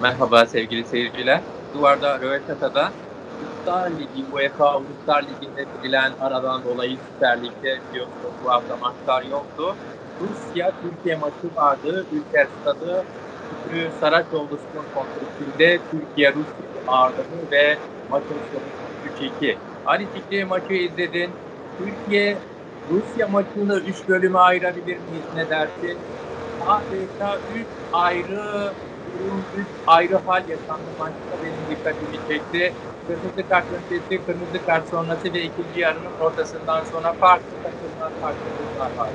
Merhaba sevgili seyirciler. Duvarda Röveşata'da Uluslar Ligi, UEFA Uluslar Ligi'nde verilen aradan dolayı Süper Lig'de biliyorsunuz bu hafta maçlar yoktu. Rusya-Türkiye maçı vardı. Ülker Stadı Şükrü Saraçoğlu Spor Kompleksinde Türkiye Rusya'yı ağırladı ve maçın sonucu 3-2. Ali Fikri maçı izledin. Türkiye Rusya maçını 3 bölüme ayırabilir miyiz, ne dersin? Adeta 3 ayrı durum, 3 ayrı hal yaşandı maçta, benim dikkatimi çekti. Kırmızı kart öncesi, kırmızı kart sonrası ve ikinci yarının ortasından sonra farklı takımlar, farklı durumlar var.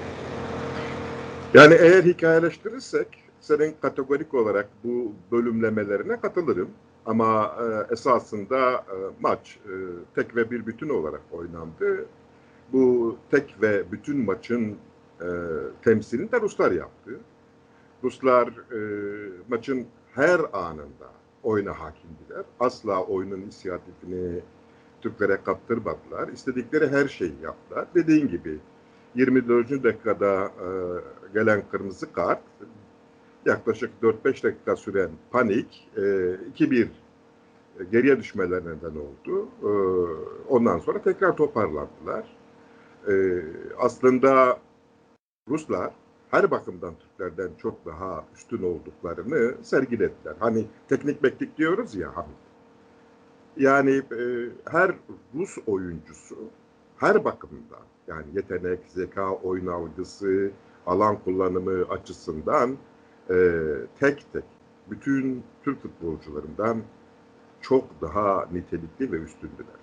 Yani eğer hikayeleştirirsek senin kategorik olarak bu bölümlemelerine katılırım. Ama esasında maç tek ve bir bütün olarak oynandı. Bu tek ve bütün maçın temsilini de Ruslar yaptı. Ruslar maçın her anında oyuna hakimdiler. Asla oyunun inisiyatifini Türklere kaptırmadılar. İstedikleri her şeyi yaptılar. Dediğin gibi 24. dakikada gelen kırmızı kart, yaklaşık 4-5 dakika süren panik 2-1 geriye düşmelerine neden oldu. Ondan sonra tekrar toparlandılar. Aslında Ruslar her bakımdan Türklerden çok daha üstün olduklarını sergilediler. Hani teknik mektik diyoruz ya. Yani her Rus oyuncusu her bakımdan, yani yetenek, zeka, oyun algısı, alan kullanımı açısından tek tek bütün Türk futbolcularından çok daha nitelikli ve üstündüler.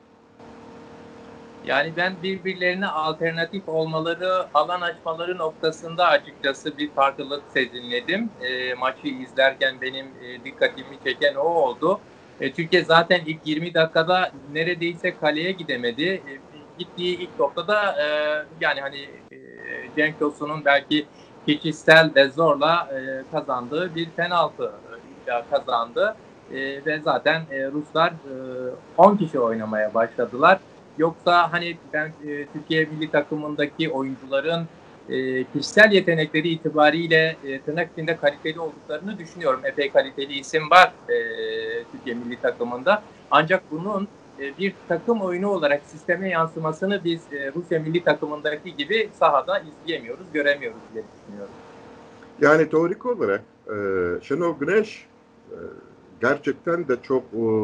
Yani ben birbirlerine alternatif olmaları, alan açmaları noktasında açıkçası bir farklılık sezinledim. Maçı izlerken benim dikkatimi çeken o oldu. Türkiye zaten ilk 20 dakikada neredeyse kaleye gidemedi. Gittiği ilk topta da yani hani Cenk Tosun'un belki kişisel ve zorla kazandığı bir penaltı kazandı. Ve zaten Ruslar 10 kişi oynamaya başladılar. Yoksa hani ben Türkiye milli takımındaki oyuncuların kişisel yetenekleri itibariyle tırnak içinde kaliteli olduklarını düşünüyorum. Epey kaliteli isim var Türkiye milli takımında. Ancak bunun bir takım oyunu olarak sisteme yansımasını biz Rusya milli takımındaki gibi sahada izleyemiyoruz, göremiyoruz diye düşünüyorum. Yani teorik olarak Şenol Güneş gerçekten de çok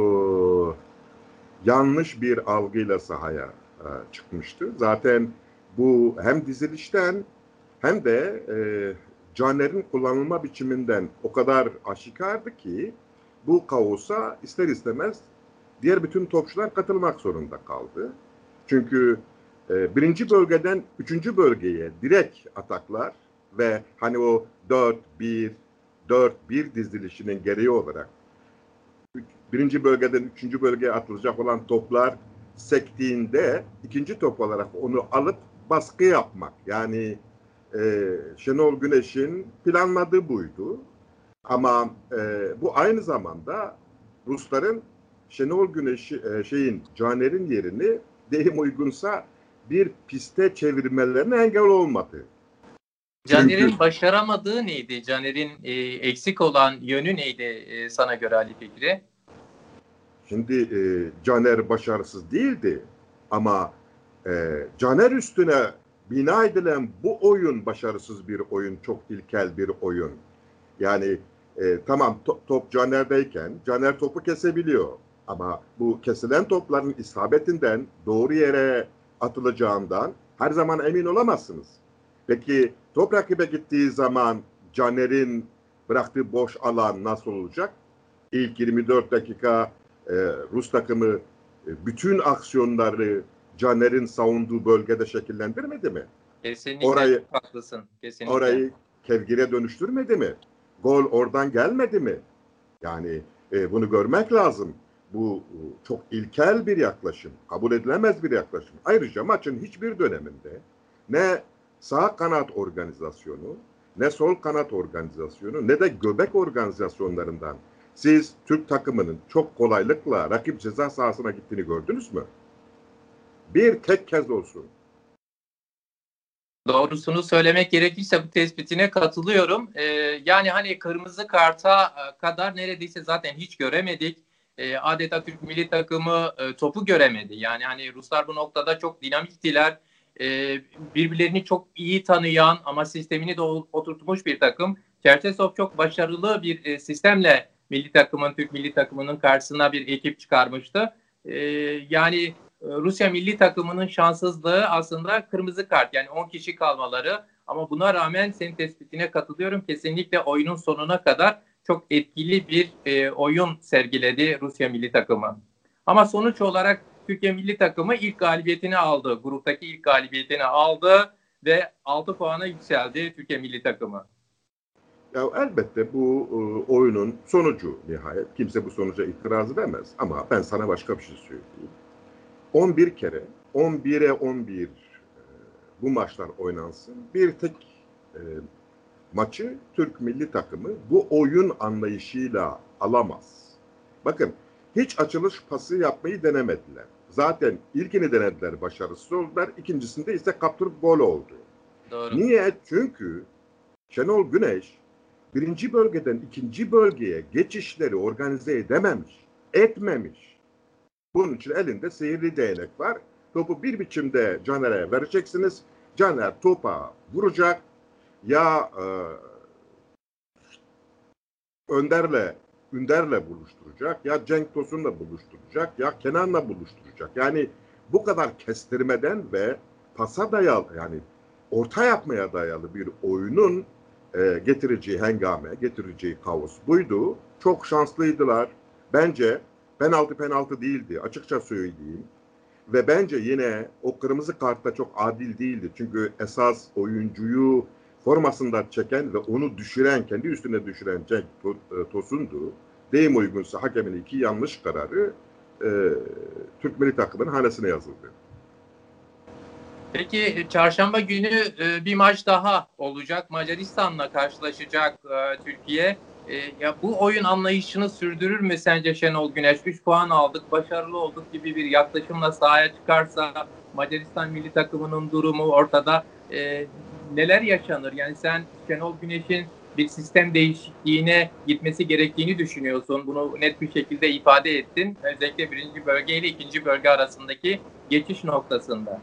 yanlış bir algıyla sahaya çıkmıştı. Zaten bu hem dizilişten hem de Caner'in kullanılma biçiminden o kadar aşikardı ki bu kaosa ister istemez diğer bütün topçular katılmak zorunda kaldı. Çünkü birinci bölgeden üçüncü bölgeye direkt ataklar ve hani o 4-1 dizilişinin gereği olarak birinci bölgeden üçüncü bölgeye atılacak olan toplar sektiğinde ikinci top olarak onu alıp baskı yapmak. Yani Şenol Güneş'in planladığı buydu. Ama bu aynı zamanda Rusların Şenol Güneş'i Caner'in yerini deyim uygunsa bir piste çevirmelerine engel olmadı. Caner'in başaramadığı neydi? Caner'in eksik olan yönü neydi sana göre Ali Fikri? Şimdi Caner başarısız değildi ama Caner üstüne bina edilen bu oyun başarısız bir oyun, çok ilkel bir oyun. Yani tamam top Caner'deyken Caner topu kesebiliyor ama bu kesilen topların isabetinden doğru yere atılacağından her zaman emin olamazsınız. Peki top rakibe gittiği zaman Caner'in bıraktığı boş alan nasıl olacak? İlk 24 dakika Rus takımı bütün aksiyonları Caner'in savunduğu bölgede şekillendirmedi mi? Kesinlikle haklısın. Kesinlikle. Orayı kevgire dönüştürmedi mi? Gol oradan gelmedi mi? Yani bunu görmek lazım. Bu çok ilkel bir yaklaşım. Kabul edilemez bir yaklaşım. Ayrıca maçın hiçbir döneminde ne sağ kanat organizasyonu, ne sol kanat organizasyonu, ne de göbek organizasyonlarından siz Türk takımının çok kolaylıkla rakip ceza sahasına gittiğini gördünüz mü? Bir tek kez olsun. Doğrusunu söylemek gerekirse bu tespitine katılıyorum. Yani hani kırmızı karta kadar neredeyse zaten hiç göremedik. Adeta Türk milli takımı topu göremedi. Yani hani Ruslar bu noktada çok dinamiktiler. Birbirlerini çok iyi tanıyan ama sistemini de oturtmuş bir takım. Çerçesov çok başarılı bir sistemle Türk milli takımının karşısına bir ekip çıkarmıştı. Yani Rusya milli takımının şanssızlığı aslında kırmızı kart, yani 10 kişi kalmaları, ama buna rağmen senin tespitine katılıyorum. Kesinlikle oyunun sonuna kadar çok etkili bir oyun sergiledi Rusya milli takımı. Ama sonuç olarak Türkiye milli takımı ilk galibiyetini aldı. Gruptaki ilk galibiyetini aldı ve 6 puana yükseldi Türkiye milli takımı. Ya elbette bu oyunun sonucu nihayet. Kimse bu sonuca itiraz edemez. Ama ben sana başka bir şey söyleyeyim. 11 kere 11'e 11 bu maçlar oynansın. Bir tek e, maçı Türk milli takımı bu oyun anlayışıyla alamaz. Bakın hiç açılış pası yapmayı denemediler. Zaten ilkini denediler, başarısız oldular. İkincisinde ise kaptırıp gol oldu. Doğru. Niye? Çünkü Şenol Güneş birinci bölgeden ikinci bölgeye geçişleri organize edememiş, etmemiş. Bunun için elinde sihirli değnek var. Topu bir biçimde Caner'e vereceksiniz. Caner topa vuracak. Ya Ünder'le buluşturacak, ya Cenk Tosun'la buluşturacak, ya Kenan'la buluşturacak. Yani bu kadar kestirmeden ve pasa dayalı, yani orta yapmaya dayalı bir oyunun getireceği hengame, getireceği kaos buydu. Çok şanslıydılar. Bence penaltı değildi, açıkça söyleyeyim. Ve bence yine o kırmızı kartta çok adil değildi. Çünkü esas oyuncuyu formasında çeken ve onu düşüren, kendi üstüne düşüren Cenk Tosun'du. Deyim uygunsa hakemin iki yanlış kararı Türk milli takımının hanesine yazıldı. Peki çarşamba günü bir maç daha olacak. Macaristan'la karşılaşacak Türkiye. Ya bu oyun anlayışını sürdürür mü sence Şenol Güneş? 3 puan aldık, başarılı olduk gibi bir yaklaşımla sahaya çıkarsa Macaristan milli takımının durumu ortada. Neler yaşanır? Yani sen Şenol Güneş'in bir sistem değişikliğine gitmesi gerektiğini düşünüyorsun. Bunu net bir şekilde ifade ettin. Özellikle birinci bölge ile ikinci bölge arasındaki geçiş noktasında.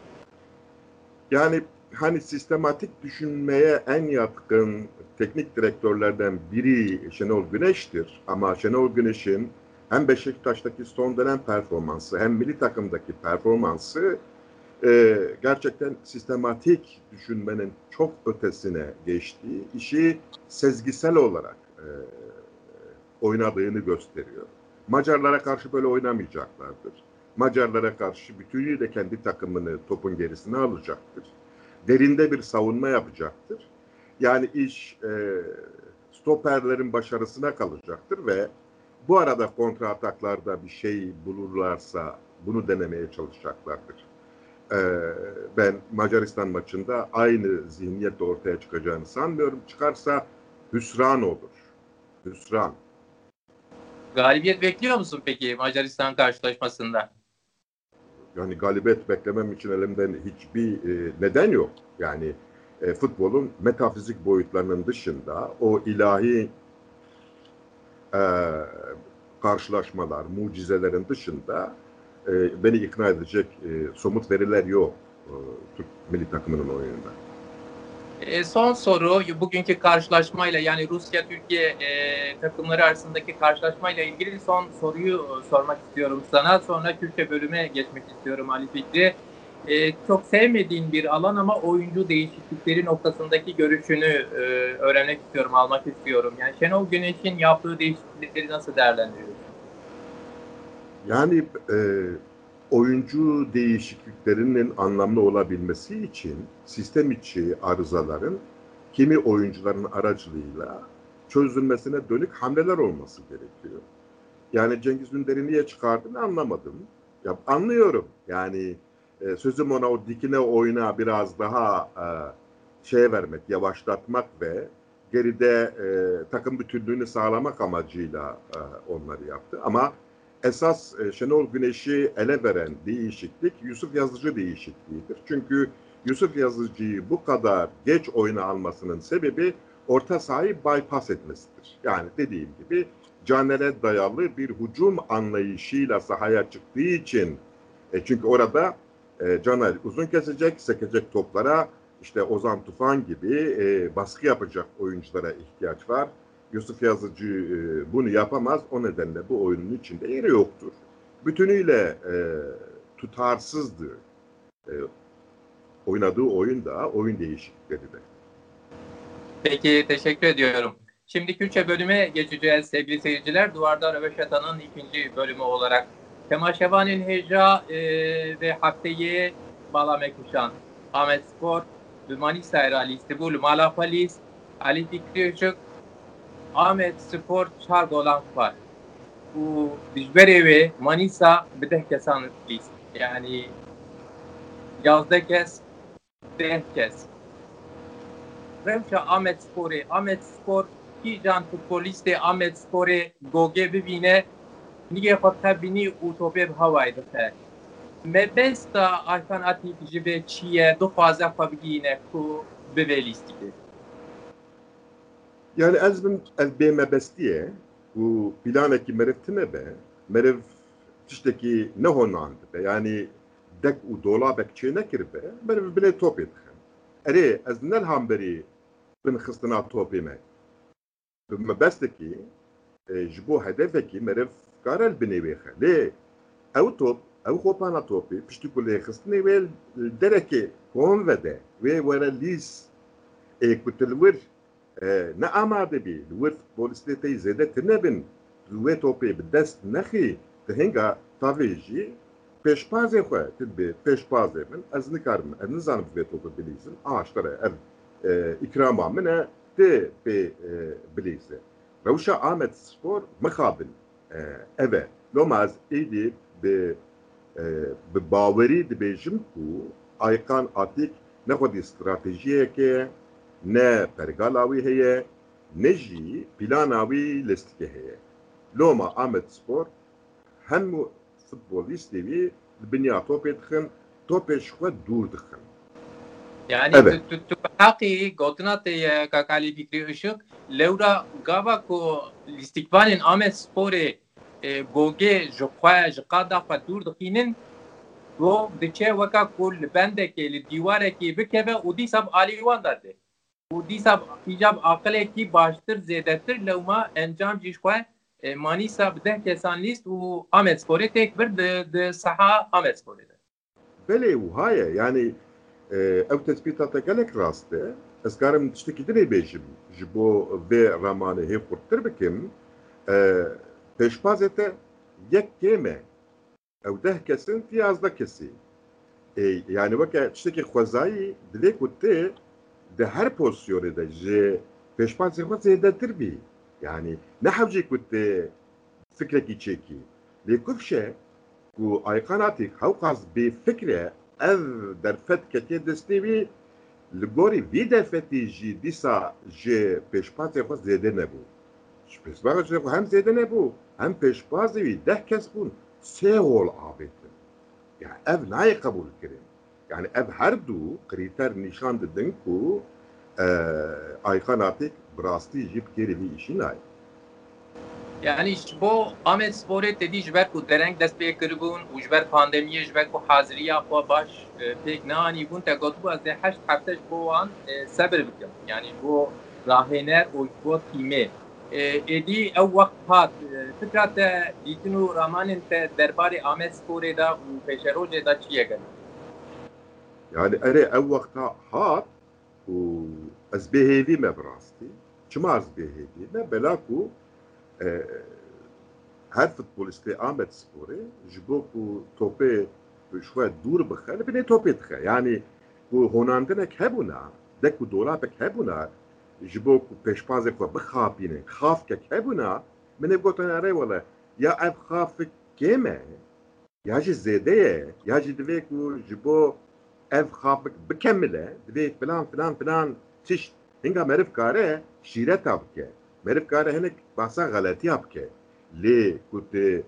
Yani hani sistematik düşünmeye en yatkın teknik direktörlerden biri Şenol Güneş'tir. Ama Şenol Güneş'in hem Beşiktaş'taki son dönem performansı hem milli takımdaki performansı gerçekten sistematik düşünmenin çok ötesine geçtiği, işi sezgisel olarak oynadığını gösteriyor. Macarlara karşı böyle oynamayacaklardır. Macarlara karşı bütünüyle kendi takımını topun gerisine alacaktır. Derinde bir savunma yapacaktır. Yani iş stoperlerin başarısına kalacaktır ve bu arada kontra ataklarda bir şey bulurlarsa bunu denemeye çalışacaklardır. Ben Macaristan maçında aynı zihniyetle ortaya çıkacağını sanmıyorum. Çıkarsa hüsran olur. Hüsran. Galibiyet bekliyor musun peki Macaristan karşılaşmasında? Yani galibiyet beklemem için elimden hiçbir neden yok. Yani futbolun metafizik boyutlarının dışında o ilahi e, karşılaşmalar, mucizelerin dışında beni ikna edecek somut veriler yok Türk milli takımının oyununda. Son soru, bugünkü karşılaşmayla, yani Rusya-Türkiye takımları arasındaki karşılaşmayla ilgili son soruyu sormak istiyorum sana. Sonra Türkçe bölüme geçmek istiyorum Ali Fikri. Çok sevmediğin bir alan ama oyuncu değişiklikleri noktasındaki görüşünü öğrenmek istiyorum, almak istiyorum. Yani Şenol Güneş'in yaptığı değişiklikleri nasıl değerlendiriyorsun? Yani oyuncu değişikliklerinin anlamlı olabilmesi için sistem içi arızaların kimi oyuncuların aracılığıyla çözülmesine dönük hamleler olması gerekiyor. Yani Cengiz Ünder'i niye çıkardığını anlamadım. Ya anlıyorum. Yani sözüm ona o dikine oyuna biraz daha şey vermek, yavaşlatmak ve geride takım bütünlüğünü sağlamak amacıyla onları yaptı. Ama esas Şenol Güneş'i ele veren değişiklik Yusuf Yazıcı değişikliğidir. Çünkü Yusuf Yazıcı'yı bu kadar geç oyuna almasının sebebi orta sahayı bypass etmesidir. Yani dediğim gibi Caner'e dayalı bir hücum anlayışıyla sahaya çıktığı için çünkü orada Caner uzun kesecek, sekecek toplara işte Ozan Tufan gibi baskı yapacak oyunculara ihtiyaç var. Yusuf Yazıcı bunu yapamaz. O nedenle bu oyunun içinde yeri yoktur. Bütünüyle tutarsızdı. Oynadığı oyun da, oyun değişiklikleri de. Peki, teşekkür ediyorum. Şimdi Kürtçe bölüme geçeceğiz sevgili seyirciler. Duvarda Röveşata'nın ikinci bölümü olarak. Temaşevanın Heca ve haftayı Balamekuşan, Ahmet Spor, Manisa Erali, İstanbul, Malapalis, Ali Fikri Işık, Ahmet Spor, Çar Dolan var. Bu Dijberi ve Manisa Bideh Kesan list. Yani yazda kes, deh kes. Revşa Ahmet Spor ki can futboliste Ahmet Spor'e goge bibine nige fatka bini utope havaydı fe. Mebesta alternatif jibe çiye do fazla fabigine ku bebelistike. Yani ez bê mebestiye û planekî meriv tune be, meriv tiştekî nehonand be, yani dek û dolabek çê nekiribe, meriv bilê topê dixin. Erê ez nelham berî binxistina topê me. Bi mebestekî ji bo hedefekî meriv kare li binê wê xe. Lê ew top, ew xopana topê piştî ku lêxistinê wê derekê kom vede, wê were lîs ku til wir ne amade bî, li wir futbolistê tê zêde tinebin, li wê topê bi dest nexî, di hinga tavê jî pêşbazê xwe tibê pêşbazê min ez nikarim, ez nizanim vê topê bilîzim, aştere ev ikrama min e tê pê bilîze. Rewşa Ahmet Spor mixabin ev e. Loma ez êdî bi bawerî dibêjim ku Aykan Atik ne xwedî stratejiyeke ne pergala wî heye, ne jî plana wî listike heye. Loma Ahmet Spor hemû futbolîstê wî li binya topê dixin, topê ji xwe dûr dixin. Yani Evet. tu haqqi gotina te kakali Fikri Işık lewra gava ku listikvanên Ahmet Sporê goge ji xwe ji qada xwe dûr dixînin ro diçe weka ku li bendekê li dîwarekê bikeve û dîsa alîwan dade. û dîsa îcab aqilekî baştir zêdetir lewma encam jî ji xwe Manîsa bi 10 kesan lîst û Ahmet Sporê têk bir di saha Ahmet Sporê de. Belê wiha ye, yani ew tespîta te gelek rast e. Ez karim tiştekî dinê bêjim ji bo vê ramanê hêv xurttir bikim. Pêşbazê te yek kêm e. Ew 10 kesin tî 11 kesî. Yani weke tiştekî xwezayî divê ku tê di her pozisyonê de ji pêşbazê xwe zêdetir bî. Yani ne hewcê ku tê fikrekî çêkî. Lê kufşe ku Aykan Atik hewqas bê fikre ev derfet ketê destê wî li gorî vî derfetê jî dîsa ji pêşbazê xwe zêde nebû. Ji pêşbazê xwe hem zêde nebû, hem pêşbazê wî 10 kes bûn, 3 gol avêtin. Yani ev nayê qebûl kirin. Yani ev her dû krîter nîşan didin ku Aykan Atik bi rastî jî bi kêrî vî îşî nayê. Yani ji bo Ahmet Sporê tedî ji ber ku dereng dest pê kiribûn û ji ber pandemiyê ji ber ku haziriya xwe baş pêk neanîbûn te gotibû ez ê 8 hefte ji bo wan sebir bikim. Yani bo rahêner û ji bo tîmê. Êdî ew wext hat fikra te dîtin û ramanên te derbarê Ahmet Sporê da û pêşerojê da çi ye gelî? Yani erê ew wexta hat û ez bêhêvî me bi rastî. Çima ez bêhêvî me? Bela ku her futbolistê Ahmet Sporê ji bo ku topê bi xwe dûr bixe li binê topê dixe. Yani ku honandinek hebûna, dek ku dolapek hebûna ji bo ku pêşbazê xwe bixapînin, xafkek hebûna, min ê gotin erê wele ya ev xafik kêm e, ya jî zêde ye, ya jî divê ku ji bo ev xafik bikemile, divê filan tişt hinga meriv kare şîreta bike. Meriv kare hinek bahsa galetiya bike. Lê ku tê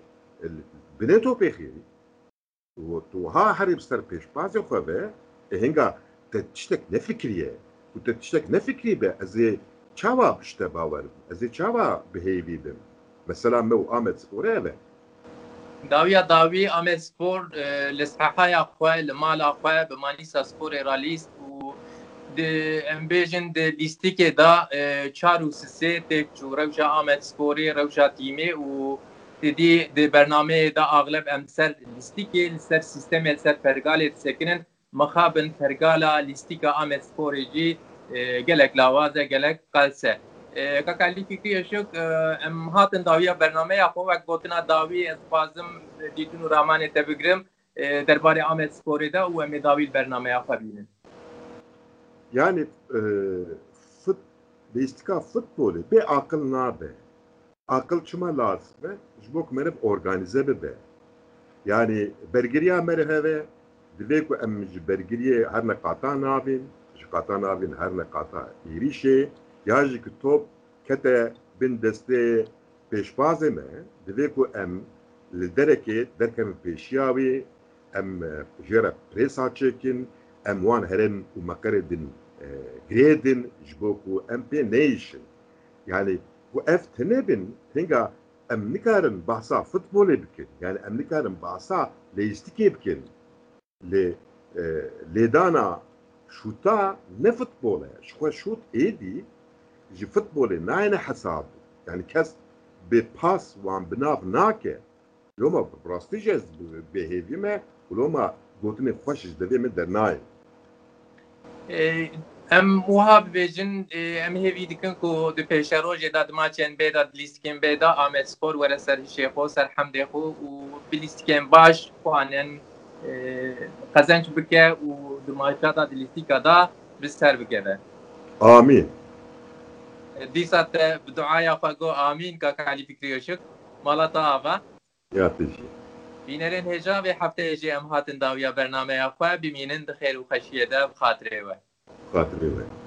binê topê xêrî û tu ha herî bi ser pêşbazê xwe be, hinga تشتك نفكريه وتشتك نفكري به ازي چاوا بشته باورم ازي چاوا بهيوي بم مثلا مو آمد سپوره به داوی آمسپور لسحهای خواه لمال خواه به مانیسا سپور رالیست و امبیجن د لیستیک دا 4 و 3 تکچو روشا آمد سپوری روشا تیمی و دی برنامه دا اغلب امسر لیستیکی لسر سیستم لسر فرگال سکنن مخابن فرگالا لیستیک آمد سپوری جی gelek lavazه gelek qalse kakali fikri şok em hatin dawiya bernameya xwe wek gotina dawî ez dixwazim dîtin û ramanê te bigrim derbarê Amed Sporê de û em ê dawî bernameya xwe bînin. Yani istika futbolu be akıl nabe. Akıl çıma lazım be. Jbok merib organize be. Yani bergiriya merheve divê ku em ji bergiriyê her neqata navin qata navin her neqata êrişê ya jî ku top kete bin destê pêşbazê me divê ku em li derekê derkevin pêşiya wê em jê re prêsa çêkin em wan herên û meqerê din girê din ji bo ku em pê neyişin yani ku ev tune bin hinga em nikarin bahsa futbolê bikin yani em nikarin bahsa lêjistikê bikin lêdana şuta ne futbola şu şut edi ji futbolê nayne hesab yani kes bir pas wan binav nake loma prostî behêvî me loma gotinê xweş ji devê me dernayê em wiha bibêjin em hêvî dikin ku di pêşerojê da di maçên bê da di lîstikên bê da Amed Spor were ser hişê xwe ser hemdê xwe û bi lîstikên baş xwanin qezenç bike û di maça da di lîstika da bi ser bikeve. Amin. Dîsa te bi duaya xwe got amîn kaka Elî Fikri Işık mala te ava. Ya teşekkür. Bînerên hêja vê hefteyê jî em hatin dawiya bernameya xwe bimînin di xêr û xeşiyê de bi xatirê we. Xatirê we.